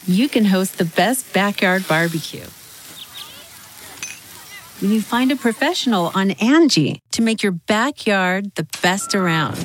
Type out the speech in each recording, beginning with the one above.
you can host the best backyard barbecue. When you find a professional on Angie to make your backyard the best around.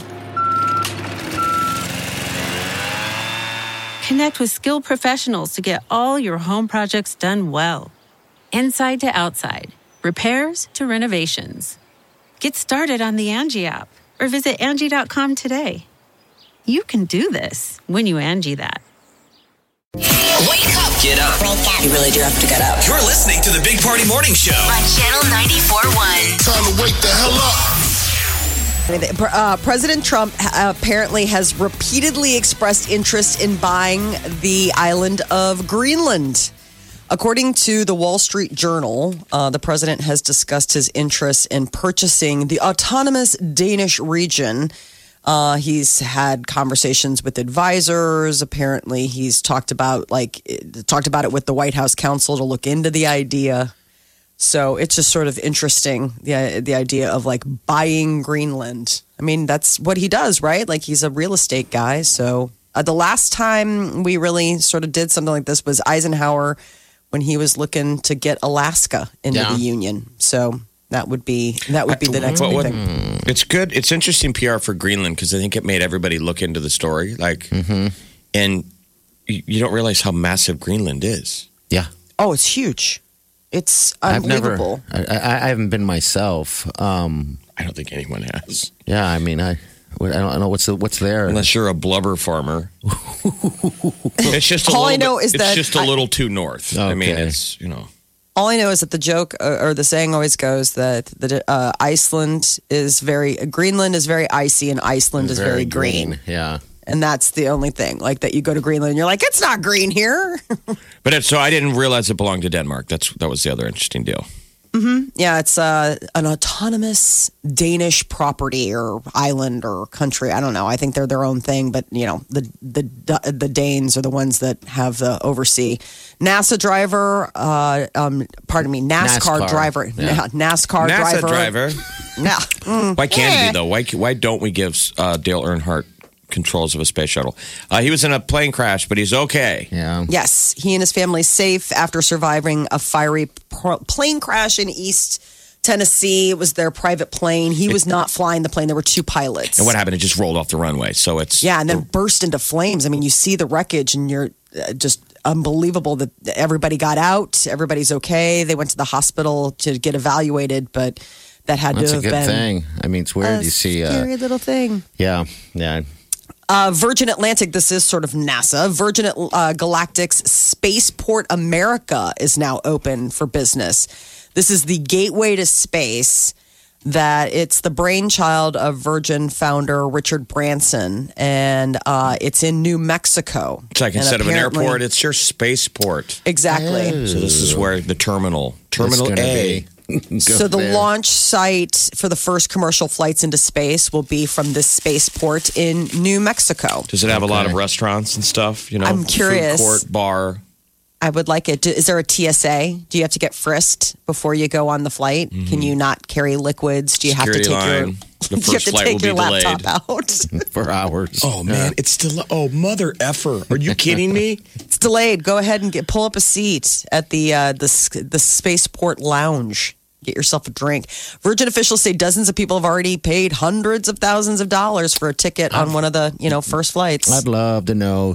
Connect with skilled professionals to get all your home projects done well. Inside to outside, repairs to renovations. Get started on the Angie app or visit Angie.com today. You can do this when you Angie that. Wake up. Get up. Wake up. You really do have to get up. You're listening to the Big Party Morning Show on Channel 94.1. Time to wake the hell up. President Trump apparently has repeatedly expressed interest in buying the island of Greenland. According to the Wall Street Journal, the president has discussed his interest in purchasing the autonomous Danish region. He's had conversations with advisors. Apparently, he's talked about it with the White House counsel to look into the idea. So it's just sort of interesting, the idea of like buying Greenland. I mean, that's what he does, right? Like he's a real estate guy. So the last time we really sort of did something like this was Eisenhower when he was looking to get Alaska into the Union. So that would be the next big thing. It's good. It's interesting PR for Greenland because I think it made everybody look into the story. And you don't realize how massive Greenland is. Yeah. Oh, it's huge. It's unbelievable. I haven't been myself. I don't think anyone has. Yeah, I mean, I don't know what's there. Unless you're a blubber farmer. It's just all I know is it's just a little too north. Okay. I mean, it's All I know is that the joke or the saying always goes that Greenland is very icy and Iceland is very green. Yeah. And that's the only thing, like that you go to Greenland and you're like, it's not green here. But so I didn't realize it belonged to Denmark. That was the other interesting deal. Yeah, it's an autonomous Danish property or island or country. I don't know. I think they're their own thing, but you know, the Danes are the ones that have the oversee. NASCAR driver. Yeah. NASCAR NASA driver. Yeah. Why can't it be though? Why don't we give Dale Earnhardt controls of a space shuttle? He was in a plane crash, but he's okay. Yeah. Yes, he and his family safe after surviving a fiery plane crash in East Tennessee. It was their private plane. He was not flying the plane. There were two pilots. And what happened? It just rolled off the runway. So it's and then burst into flames. I mean, you see the wreckage, and you're just unbelievable that everybody got out. Everybody's okay. They went to the hospital to get evaluated, but that had That's to have a good been thing. I mean, it's weird. You see, scary little thing. Yeah. Virgin Atlantic, this is sort of NASA. Virgin Galactic's Spaceport America is now open for business. This is the gateway to space that it's the brainchild of Virgin founder Richard Branson, and it's in New Mexico. It's like instead of an airport, it's your spaceport. Exactly. So this is where the Terminal A. So the launch site for the first commercial flights into space will be from this spaceport in New Mexico. Does it have a lot of restaurants and stuff? You know, I'm curious. Food court, bar. I would like it. Is there a TSA? Do you have to get frisked before you go on the flight? Can you not carry liquids? Do you Security have to take line. The you have first to flight take will be your laptop delayed out? For hours. Oh man, it's still. Oh mother effer! Are you kidding me? It's delayed. Go ahead and pull up a seat at the spaceport lounge. Get yourself a drink. Virgin officials say dozens of people have already paid hundreds of thousands of dollars for a ticket on one of the first flights. I'd love to know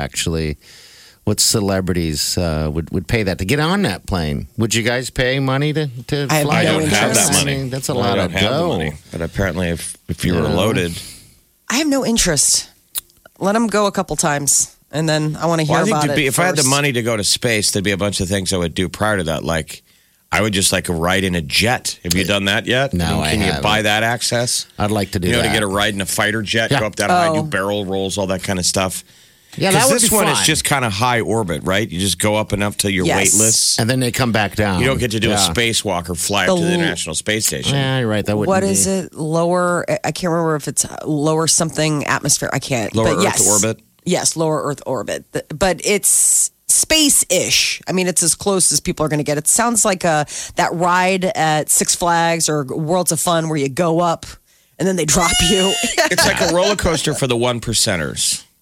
what celebrities would pay that to get on that plane. Would you guys pay money to fly? I don't have that money. I mean, that's a lot of dough. But apparently, if you were loaded, I have no interest. Let them go a couple times, and then I want to hear about it. If I had the money to go to space, there'd be a bunch of things I would do prior to that, like. I would just like a ride in a jet. Have you done that yet? No, Can you buy that access? I'd like to do that. To get a ride in a fighter jet, go up that high, do barrel rolls, all that kind of stuff. Yeah, that would be this one fun. is just kind of high orbit, right? You just go up enough till you're weightless. And then they come back down. You don't get to do a spacewalk or fly up to the International Space Station. Yeah, you're right. That wouldn't What be. is it? Lower, I can't remember if it's lower something atmosphere. I can't. Lower but Earth orbit? Yes, lower Earth orbit. But it's space-ish. I mean, it's as close as people are going to get. It sounds like that ride at Six Flags or Worlds of Fun where you go up and then they drop you. It's like a roller coaster for the one percenters.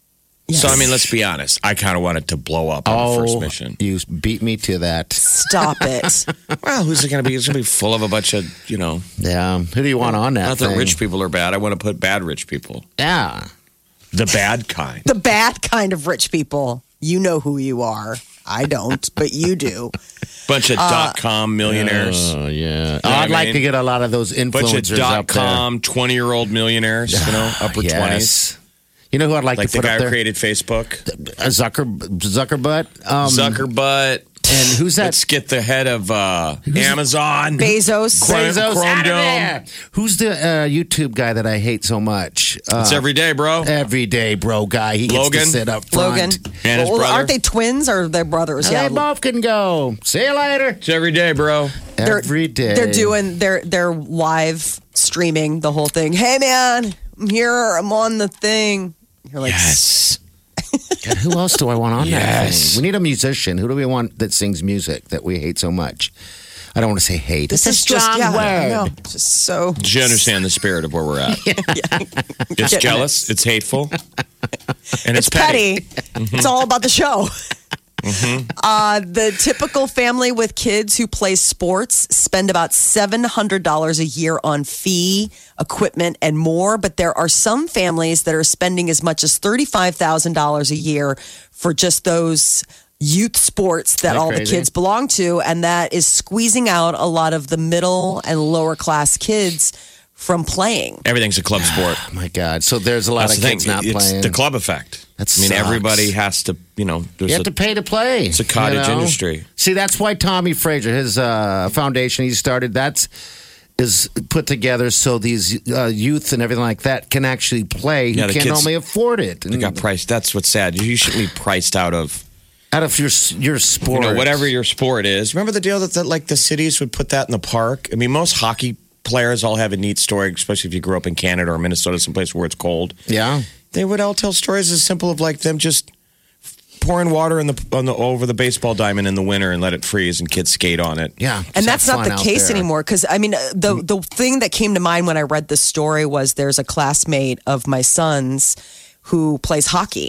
Yes. So, I mean, let's be honest. I kind of wanted to blow up on the first mission. You beat me to that. Stop it. Well, who's it going to be? It's going to be full of a bunch of, Yeah. Who do you want on that not that thing? rich people are bad. I want to put bad rich people. Yeah. The bad kind. The bad kind of rich people. You know who you are. I don't, but you do. Bunch of .com millionaires. Oh, yeah. what I I'd like mean? to get a lot of those Bunch influencers of up there. .com 20-year-old millionaires, upper 20s. Yes. You know who I'd like Like to the put guy up who there? created Facebook. Zuckerbutt. Zuckerbutt. And who's that? Let's get the head of Amazon. Bezos. Bezos Chrome out of Dome. there. Who's the YouTube guy that I hate so much? It's every day, bro. Everyday bro guy. He gets Logan? to sit up front. Logan. And his Well, brother. aren't they twins or they're brothers? They both can go. See you later. It's every day, bro. Every day. They're doing they're live streaming the whole thing. Hey man, I'm here. I'm on the thing. You're like, Yes. God, who else do I want on that Yes. thing? We need a musician. Who do we want that sings music that we hate so much? I don't want to say hate. this It's is a just strong I word. know, just so. Do you understand the spirit of where we're at? It's Getting jealous. It's hateful. And it's It's petty. It's all about the show. The typical family with kids who play sports spend about $700 a year on fee, equipment, and more. But there are some families that are spending as much as $35,000 a year for just those youth sports that Isn't that all the crazy? kids belong to. And that is squeezing out a lot of the middle and lower class kids from playing. Everything's a club sport. Oh my God. So there's a lot That's of the kids thing. not It's playing. the club effect. That I mean, sucks. everybody has to, there's You have to pay to play. It's a cottage industry. See, that's why Tommy Fraser, his foundation he started, is put together so these youth and everything like that can actually play who Yeah, the can't kids- only afford it. They got priced. That's what's sad. You shouldn't be priced out of out of your sport. whatever your sport is. Remember the deal that like the cities would put that in the park? I mean, most hockey players all have a neat story, especially if you grew up in Canada or Minnesota, someplace where it's cold. Yeah. They would all tell stories as simple of like them just pouring water over the baseball diamond in the winter and let it freeze and kids skate on it. Yeah. And just that's have not fun the out case there. anymore. Because I mean, the thing that came to mind when I read this story was there's a classmate of my son's who plays hockey,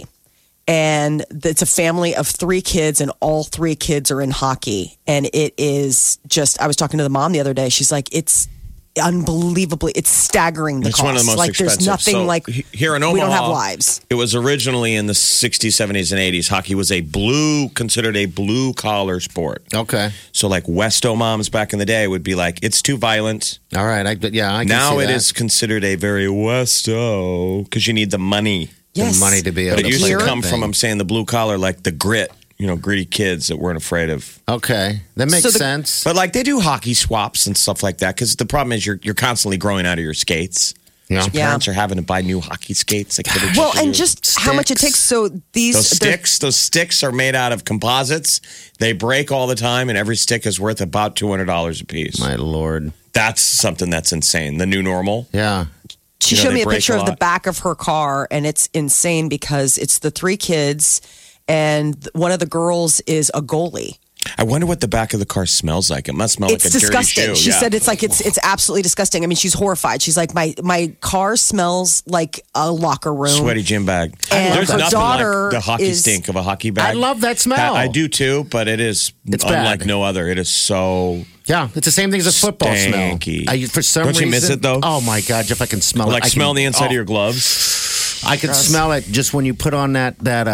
and it's a family of 3 kids, and all 3 kids are in hockey, and it is just. I was talking to the mom the other day. She's like, it's unbelievably, it's staggering. The It's cost. one of the most like expensive. there's nothing So, like here in Omaha, we don't have lives. It was originally in the 60s, 70s, and 80s. Hockey was considered a blue collar sport. Okay. So like Westo moms back in the day would be like, it's too violent. All right. I can Now see it that. is considered a very Westo because you need the money. Yes. The money to be able But it to used play to that come from, thing. I'm saying, the blue collar, like the grit, gritty kids that weren't afraid of. Okay. That makes So the- sense. But like they do hockey swaps and stuff like that because the problem is you're constantly growing out of your skates. Yeah. So Yeah. parents are having to buy new hockey skates. Like every Well, couple and years. just how much it takes. So these those sticks are made out of composites. They break all the time, and every stick is worth about $200 a piece. My Lord. That's something that's insane. The new normal. Yeah. She You know, showed they me a break picture a of the lot. back of her car, and it's insane because it's the 3 kids, and one of the girls is a goalie. I wonder what the back of the car smells like. It must smell It's like a disgusting. dirty shoe. She Yeah. said it's absolutely disgusting. I mean, she's horrified. She's like, my car smells like a locker room. Sweaty gym bag. And There's her nothing daughter like the hockey is- stink of a hockey bag. I love that smell. I do too, but it is It's unlike bad. no other. It is so Yeah, it's the same thing as a football Stanky. smell. For some Don't you reason, miss it, though? Oh my God, Jeff, I can smell it. like I smelling the can, inside oh, of your gloves. I can smell it just when you put on that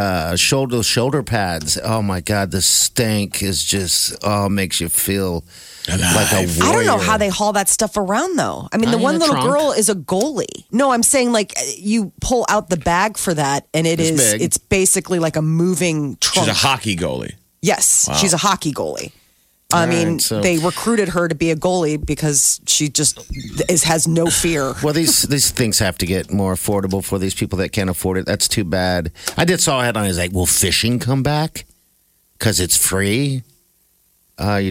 shoulder pads. Oh my God, the stank is just makes you feel like a warrior. I don't know how they haul that stuff around though. I mean, the In one a little trunk. girl is a goalie. No, I'm saying like you pull out the bag for that, and It's big. it's basically like a moving trunk. She's a hockey goalie. Yes, she's a hockey goalie. I mean, right, so- they recruited her to be a goalie because she just has no fear. Well, these things have to get more affordable for these people that can't afford it. That's too bad. I did saw a headline. It's like, will fishing come back because it's free? I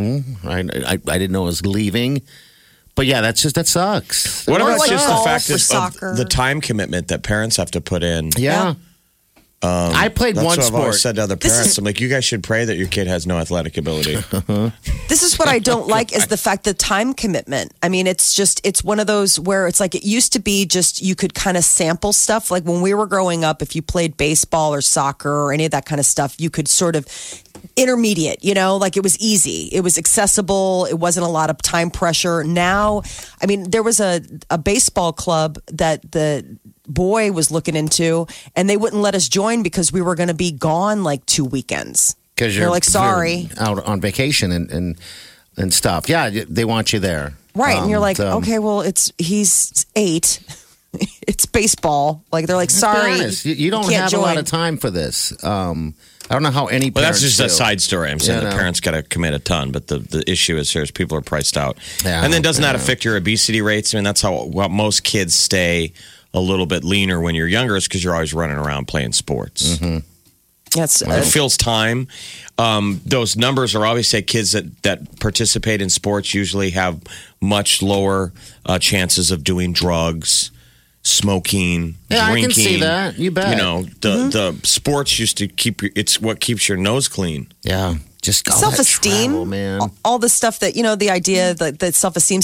didn't know it was leaving, but yeah, that sucks. What Or about like just the golf fact or of soccer. the time commitment that parents have to put in? Yeah. I played That's one what I've always sport. said to other parents. I'm like, you guys should pray that your kid has no athletic ability. This is what I don't like is the fact the time commitment. I mean, it's one of those where it's like it used to be just you could kind of sample stuff. Like when we were growing up, if you played baseball or soccer or any of that kind of stuff, you could sort of intermediate, like it was easy. It was accessible. It wasn't a lot of time pressure. Now, I mean, there was a baseball club that the boy was looking into and they wouldn't let us join because we were going to be gone like 2 weekends. Because you're like, sorry. You're out on vacation and stuff. Yeah, they want you there. Right. And you're like, okay, well, he's 8. It's baseball. Like, they're like, sorry. You don't can't have join. a lot of time for this. I don't know how any Well, that's parents just a do. side story. I'm saying Yeah, the no. parents got to commit a ton, but the issue is here is people are priced out. Yeah, and then doesn't that affect your obesity rates? I mean, that's how most kids stay a little bit leaner when you're younger is because you're always running around playing sports. Mm-hmm. Yes. It fills time. Those numbers are always say kids that participate in sports usually have much lower chances of doing drugs, smoking, Yeah, drinking. I can see that. You bet. The sports used to it's what keeps your nose clean. Yeah. Just all that self-esteem, travel, man. all the stuff that, the idea that self-esteem,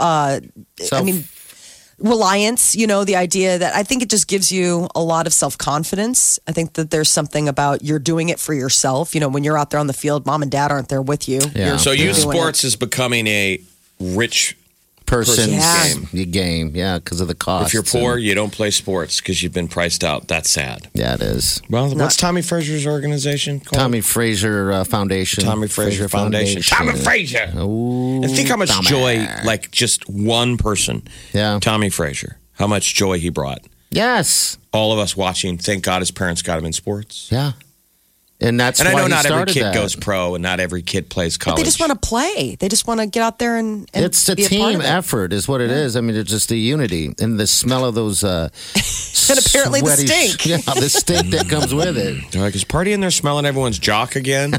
reliance, the idea that I think it just gives you a lot of self-confidence. I think that there's something about you're doing it for yourself. When you're out there on the field, mom and dad aren't there with you. Yeah. You're So youth doing sports is becoming a rich person's Yeah. game. Yeah, because of the cost. If you're poor, you don't play sports because you've been priced out. That's sad. Yeah, it is. Well, what's Tommy Frazier's organization called? Tommy Fraser Foundation. Tommy Frazier Foundation. Tommy Frazier. Ooh, And think how much Tommy. joy, like just one person, Yeah. Tommy Frazier, how much joy he brought. Yes. All of us watching, thank God his parents got him in sports. Yeah. And that's And I why know he not every started kid that. goes pro and not every kid plays But college. they just want to play. They just want to get out there and It's a be part team of it. effort, is what it is. I mean, it's just the unity and the smell of those. And apparently the sweaty- stink. Yeah, the stink that comes with it. They're like, is Party in there smelling everyone's jock again?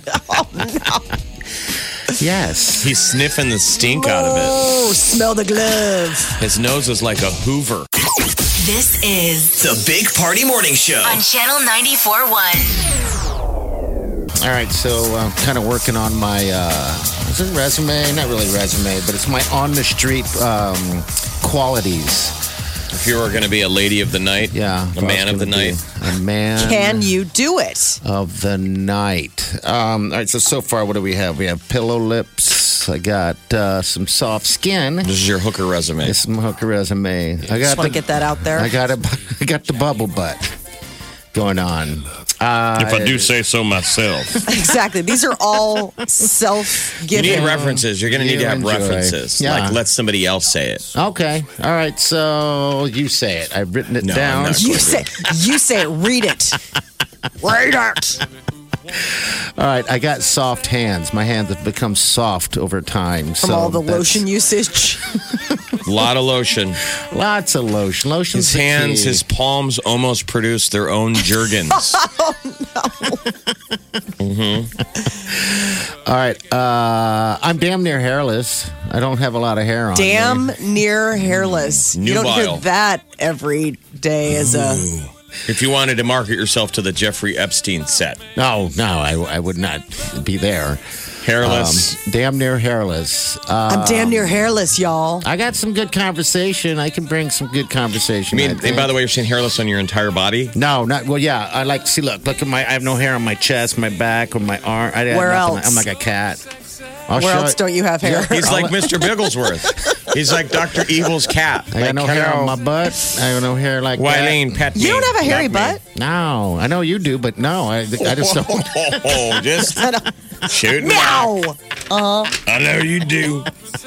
Yes. He's sniffing the stink out of it. Oh, smell the glove. His nose is like a Hoover. This is The Big Party Morning Show. on Channel 94.1. All right, so I'm kind of working on my is it resume? Not really resume, but it's my on the street qualities. If you were going to be a lady of the night, Yeah, a man of the night. a man. Can you do it? Of the night. All right, so far, what do we have? We have pillow lips. I got some soft skin. This is your hooker resume. It's my hooker resume. I Just got want to get that out there. I got the bubble butt going on. If I do say so myself. Exactly. These are all You self-giving. need references. You're going to need to have enjoy. references. Yeah. Like, let somebody else say it. Okay. All right. So you say it. I've written it No, down. I'm not You say it. Read it. Read it. All right. I got soft hands. My hands have become soft over time. From all the lotion usage. A lot of lotion. Lots of lotion. Lotion's His the hands, key. his palms almost produce their own Jergens. All right. I'm damn near hairless. I don't have a lot of hair on me. Damn near hairless. You don't Nubile. hear that every day as a. If you wanted to market yourself to the Jeffrey Epstein set, No, I would not be there. hairless. Damn near hairless. I'm damn near hairless, y'all. I got some good conversation. I can bring some good conversation. I I mean, think. and by the way, you're saying hairless on your entire body? No, not well. Yeah, I like. See, look at my. I have no hair on my chest, my back, or my arm. I have Where nothing. else? I'm like a cat. I'll Where show else it. don't you have hair? He's like Mr. Bigglesworth. He's like Dr. Evil's cat. I got no hair on my butt. I got no hair like Wileen, pet me. You don't have a hairy Knock me. butt? No, I know you do, but no, I just don't. Oh, just shoot me. Meow. I know you do.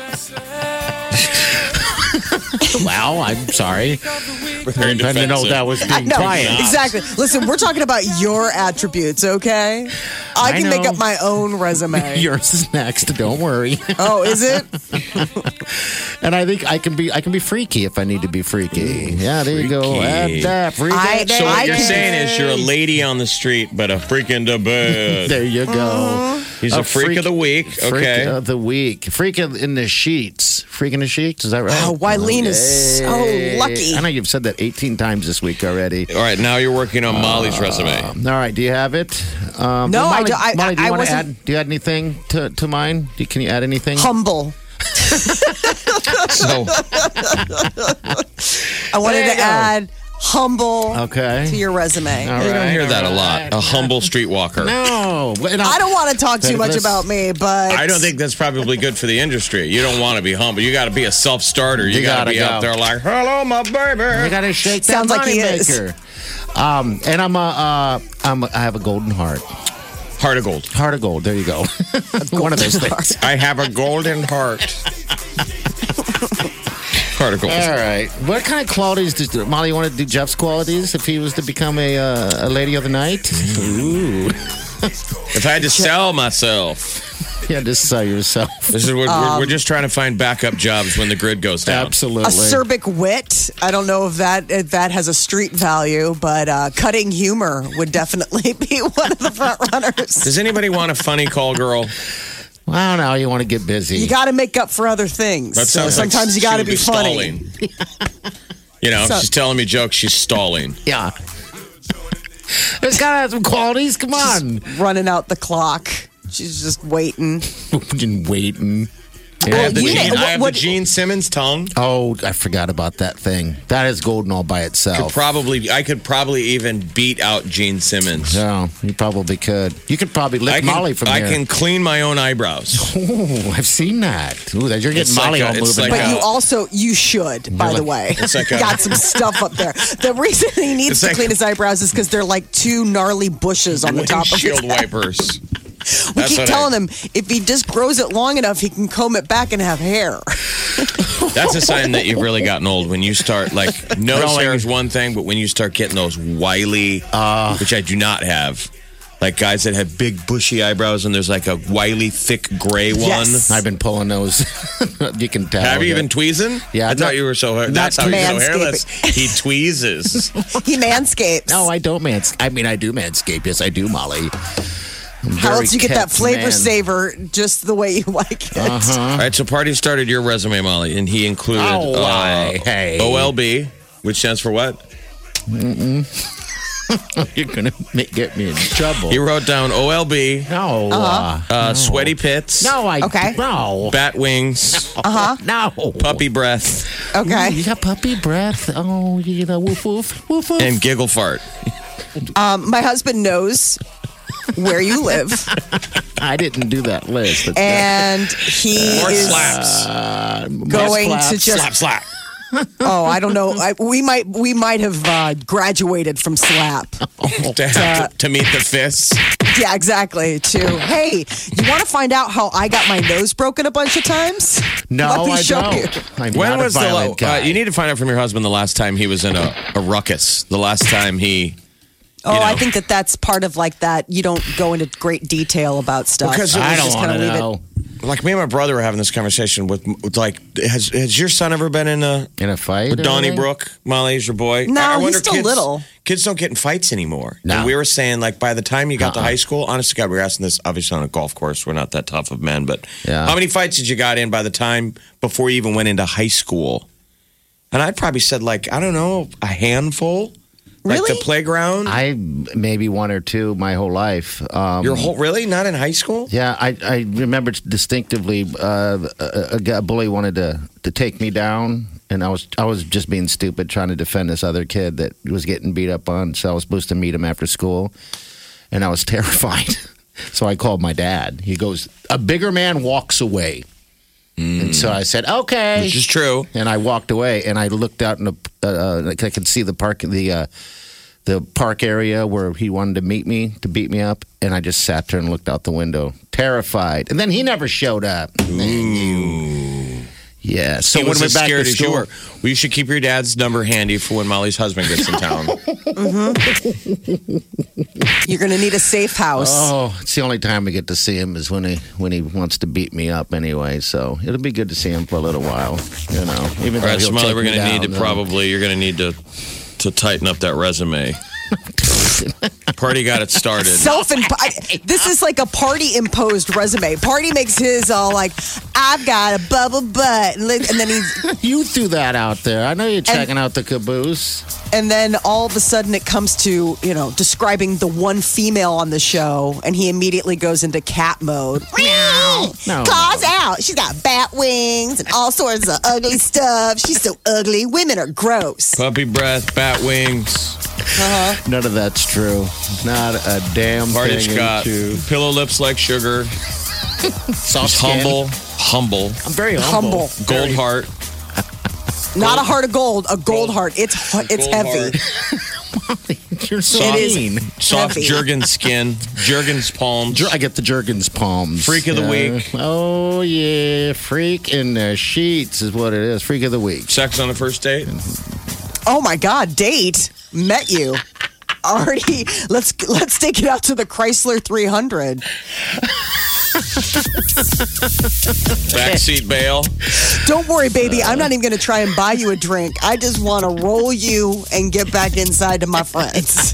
Wow, I'm sorry. Very I didn't know defensive. that was being No, quiet. exactly. Listen, we're talking about your attributes, okay? I can make know. up my own resume. Yours is next. Don't worry. Oh, is it? And I think I can be freaky if I need to be freaky. Yeah, there you go. Freaky. Add that. Freaky. So what I you're can- saying is you're a lady on the street, but a freaking the bed. There you go. He's a freak of the week. Freak Okay. of the week. Freak in the sheets. Freak in the sheets. Is that right? Oh, Wileen is so lucky. I know you've said that 18 times this week already. All right, now you're working on Molly's resume. All right, do you have it? No, Molly, I Molly, do you want to wasn't- add? Do you add anything to mine? Can you add anything? Humble. So I wanted There to you go. add humble Okay. to your resume. All you don't right, hear that all a lot. right. A humble streetwalker. No. I don't want to talk too much about me, but I don't think that's probably good for the industry. You don't want to be humble. You got to be a self-starter. You got to gotta be out go. there like, "Hello, my You baby." got to shake Sounds that like he money is. maker. And I have a golden heart. Heart of gold. Heart of gold. There you go. One of those things. I have a golden heart. Heart of gold. All right. What kind of qualities does Molly want to do? Jeff's qualities if he was to become a lady of the night? Ooh. If I had to sell myself, Yeah, just sell yourself. this is we're just trying to find backup jobs when the grid goes down. Absolutely. acerbic wit. I don't know if that has a street value, but cutting humor would definitely be one of the front runners. Does anybody want a funny call girl? I don't know. You want to get busy. You got to make up for other things. That So sounds like sometimes you she got to would be funny. stalling. You know, So- she's telling me jokes. She's stalling. Yeah. There's got to have some qualities. Come on. Running out the clock. She's just waiting. Fucking waiting. I have the you Gene, know, I have what- the Gene Simmons tongue. Oh, I forgot about that thing. That is golden all by I itself. could probably even beat out Gene Simmons. Yeah, you probably could. You could probably lift Molly from I there. can clean my own eyebrows. Oh, I've seen that. Ooh, you're getting It's Molly like all a- it's moving. like But a- you should, by the way. It's like a- got some stuff up there. The reason he needs It's to like- clean his eyebrows is because they're like two gnarly bushes on the top of his Windshield head. wipers. We That's keep what telling him if he just grows it long enough, he can comb it back and have hair. That's a sign that you've really gotten old when you start like nose Growing. hair is one thing, but when you start getting those wily, which I do not have, like guys that have big bushy eyebrows and there's like a wily thick gray one. Yes. I've been pulling those. You can tell. Have you been tweezing? Yeah, I thought not- you were so. not That's how you're so manscaping. hairless. He tweezes. He manscapes. No, I don't I mean, I do manscape. Yes, I do, Molly. How else you get that flavor man. saver just the way you like it? All right, so Party started your resume, Molly, and he included Oh, why? Hey. OLB, which stands for what? You're going to get me in trouble. He wrote down OLB, No. sweaty pits, No, Okay. No. bat wings, No. puppy breath, Okay. You got puppy breath. Oh, you know, woof, woof, woof, woof. and giggle fart. My husband knows where you live, I didn't do that list. But and he More is slaps. going slaps. to just. Slap, slap. Oh, I don't know. We might have graduated from slap. to meet the fists. Yeah, exactly. Hey, you want to find out how I got my nose broken a bunch of times? No, Let me I show don't. you. I'm When not was a the violent guy. you need to find out from your husband the last time he was in a ruckus. The last time he. Oh, You know. I think that's part of like that. You don't go into great detail about stuff. Because it I was don't just want to kinda leave it. know. Like me and my brother were having this conversation with like, has your son ever been in a In a fight? or anything? Donnybrook? Molly is your boy. No, I he's wonder still kids, little. Kids don't get in fights anymore. No. And we were saying like by the time you got to high school, honest to God, we were asking this obviously on a golf course. We're not that tough of men, but Yeah. how many fights did you got in by the time before you even went into high school? And I'd probably said like I don't know, a handful. Like Really? the playground. I maybe one or two my whole life. Your whole really not in high school. Yeah, I remember distinctively a bully wanted to take me down, and I was just being stupid trying to defend this other kid that was getting beat up on. So I was supposed to meet him after school, and I was terrified. So I called my dad. He goes, "A bigger man walks away," and so I said, "Okay," Which is true. and I walked away, and I looked out in like I could see the park area where he wanted to meet me to beat me up, and I just sat there and looked out the window, terrified. And then he never showed up. Yeah. So He when was we as went back scared to as you school, were. Well, you should keep your dad's number handy for when Molly's husband gets in town. You're going to need a safe house. oh, it's the only time we get to see him is when he wants to beat me up anyway. So it'll be good to see him for a little while. You know, even All though right, he'll Smiley, take we're me going to down, need to then- probably you're going to need to tighten up that resume. Party got it started. This is like a Party imposed resume. Party makes his all like, I've got a bubble butt, and then he's. You threw that out there. I know you're checking out the caboose. And then all of a sudden it comes to, describing the one female on the show, and he immediately goes into cat mode. No. Claws out. She's got bat wings and all sorts of ugly stuff. She's so ugly. Women are gross. Puppy breath, bat wings. None of that's true. Not a damn Party thing. Scott. Pillow lips like sugar. Soft He's skin. humble. I'm very humble. Gold heart. Not a heart of gold, a gold heart. It's heavy. You're so Soft, mean. soft heavy. Jergens skin. Jergens palms. I get the Jergens palms. Freak of the week. Oh, yeah. Freak in the sheets is what it is. Freak of the week. Sex on the first date. Oh my God, date. Met you. Already, let's take it out to the Chrysler 300. Backseat bail. Don't worry, baby. I'm not even going to try and buy you a drink. I just want to roll you and get back inside to my friends.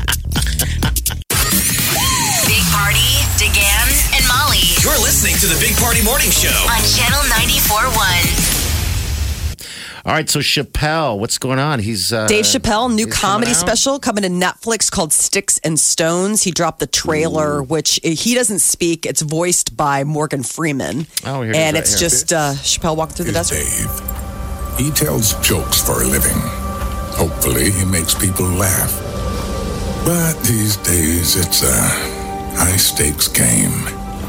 Big Party, DeGan, and Molly You're listening to the Big Party Morning Show. on Channel 94.1. All right, so Chappelle, what's going on? He's Dave Chappelle, new he's comedy coming out? special coming to Netflix called Sticks and Stones. He dropped the trailer, which he doesn't speak. It's voiced by Morgan Freeman. Oh, here it is and right it's here. just Chappelle walking through the is desert. Dave. He tells jokes for a living. Hopefully, he makes people laugh. But these days, it's a high-stakes game.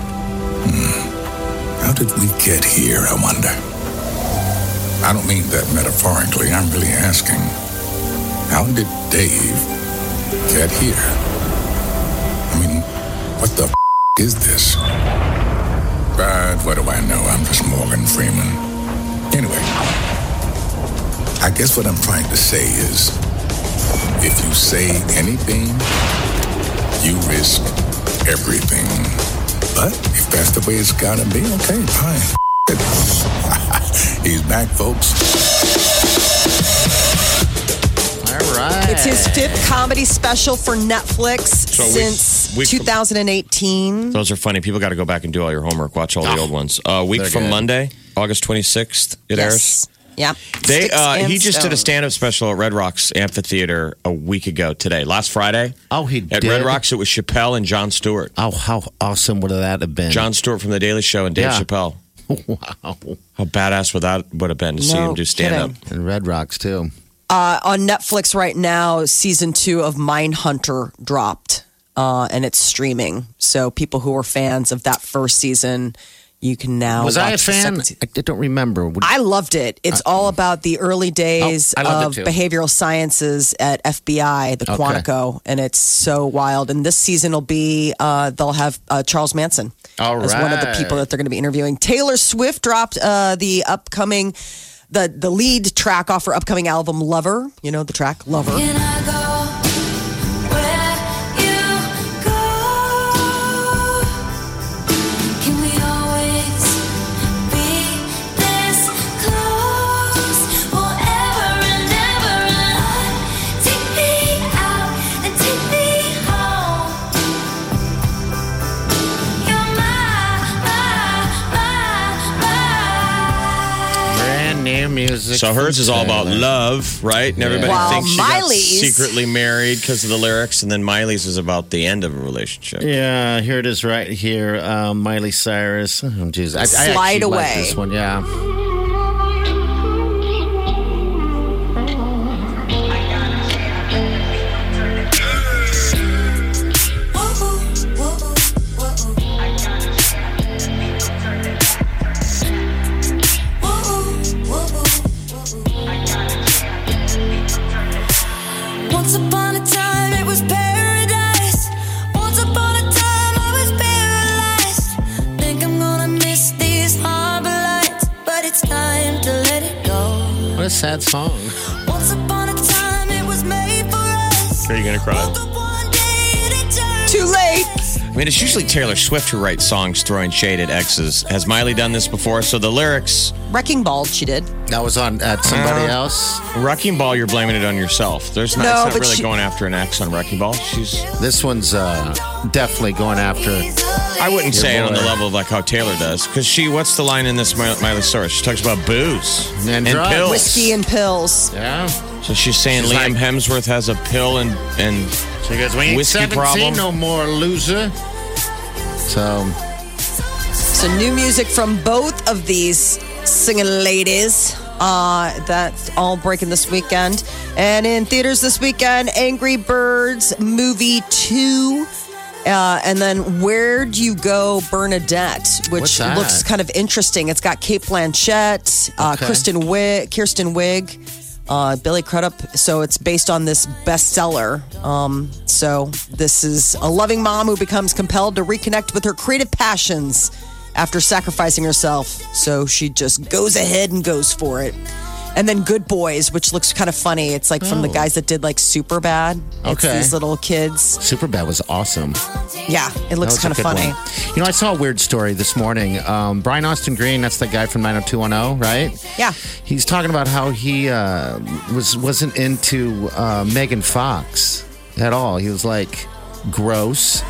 How did we get here, I wonder? I don't mean that metaphorically. I'm really asking, how did Dave get here? I mean, what the is this? But what do I know? I'm just Morgan Freeman. Anyway, I guess what I'm trying to say is, if you say anything, you risk everything. But if that's the way it's gotta be, okay, fine. He's back, folks. All right. It's his fifth comedy special for Netflix since week from- 2018. Those are funny. People got to go back and do all your homework. Watch all the old ones. Week They're from good. Monday, August 26th, it airs. Yeah. They Sticks and he just did a Stones. stand-up special at Red Rocks Amphitheater a week ago today, last Friday. Oh, he At did? Red Rocks, it was Chappelle and Jon Stewart. Oh, how awesome would that have been? Jon Stewart from The Daily Show and Dave Yeah. Chappelle. Wow. How badass would that have been to see No him do stand-up? kidding. And Red Rocks, too. On Netflix right now, season 2 of Mindhunter dropped, and it's streaming. So people who are fans of that first season, you can now Was watch I a the fan? second season. I don't remember. I loved it. It's all about the early days I of loved it too. behavioral sciences at FBI, the Okay. Quantico, and it's so wild. And this season will be they'll have Charles Manson All as one of the right. people that they're going to be interviewing. Taylor Swift dropped the upcoming the lead track off her upcoming album Lover. You know the track Lover. Can I go where you go? Can we always be this close forever and ever? And take me out and take me home. You're my Brand new music. So hers is all about love, right? And everybody While thinks she got Miley's- secretly married because of the lyrics, and then Miley's is about the end of a relationship. Yeah, here it is right here. Miley Cyrus. Oh, geez. I Slide actually away. like this one, yeah. Once upon a time it was paradise. Once upon a time I was paralyzed. Think I'm gonna miss these harbor lights, but it's time to let it go. What a sad song. Once upon a time it was made for us. Are you gonna cry? Woke up one day and it turned Too late. I mean, it's usually Taylor Swift who writes songs throwing shade at exes. Has Miley done this before? So the lyrics... Wrecking Ball, she did. That was on at somebody else. Wrecking Ball, you're blaming it on yourself. It's not really going after an ex on Wrecking Ball. This one's definitely going after... I wouldn't say it on the level of like how Taylor does. Because what's the line in this Miley story? She talks about booze and pills. Whiskey and pills. Yeah. So she's saying Liam Hemsworth has a pill and she goes, we ain't whiskey 17 problem. no more, loser. So new music from both of these singing ladies. That's all breaking this weekend. And in theaters this weekend, Angry Birds Movie 2. And then Where Do You Go, Bernadette, which looks kind of interesting. It's got Cate Blanchett, Kirsten Wiig, Billy Crudup. So it's based on this bestseller. So this is a loving mom who becomes compelled to reconnect with her creative passions after sacrificing herself. So she just goes ahead and goes for it. And then Good Boys, which looks kind of funny. It's like from the guys that did like Superbad. It's these little kids. Superbad was awesome. Yeah, it looks kind of funny. One. You know, I saw a weird story this morning. Brian Austin Green, that's the guy from 90210, right? Yeah. He's talking about how he wasn't into Megan Fox at all. He was like, gross.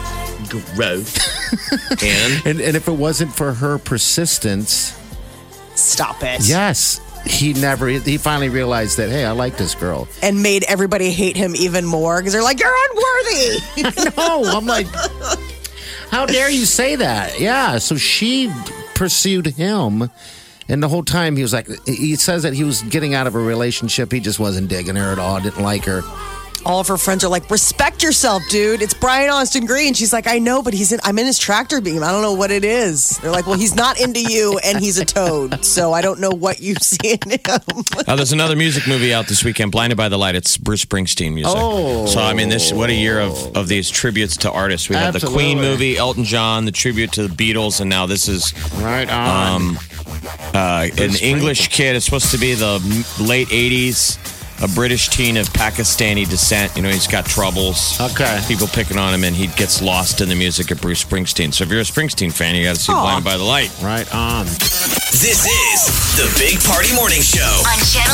and if it wasn't for her persistence... Stop it. Yes. He finally realized that, hey, I like this girl. And made everybody hate him even more because they're like, you're unworthy. I know. I'm like, how dare you say that? Yeah. So she pursued him. And the whole time he was like, he says that he was getting out of a relationship. He just wasn't digging her at all. Didn't like her. All of her friends are like, respect yourself, dude. It's Brian Austin Green. She's like, I know, but I'm in his tractor beam. I don't know what it is. They're like, well, he's not into you and he's a toad. So I don't know what you see in him. There's another music movie out this weekend, Blinded by the Light. It's Bruce Springsteen music. Oh. So, I mean, what a year of these tributes to artists. We have the Queen movie, Elton John, the tribute to the Beatles, and now this is... Right on. An English kid. It's supposed to be the late 80s. A British teen of Pakistani descent. You know, he's got troubles. Okay. People picking on him, and he gets lost in the music of Bruce Springsteen. So if you're a Springsteen fan, you got to see Blinded by the Light. Right on. This is the Big Party Morning Show on Channel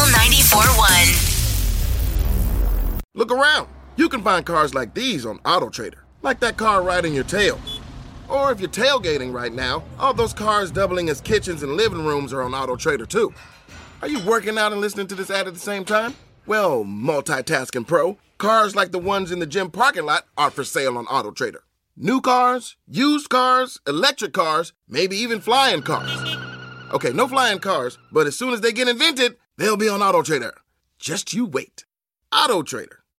94.1. Look around. You can find cars like these on AutoTrader. Like that car riding your tail. Or if you're tailgating right now, all those cars doubling as kitchens and living rooms are on AutoTrader too. Are you working out and listening to this ad at the same time? Well, multitasking pro, cars like the ones in the gym parking lot are for sale on AutoTrader. New cars, used cars, electric cars, maybe even flying cars. Okay, no flying cars, but as soon as they get invented, they'll be on AutoTrader. Just you wait. AutoTrader.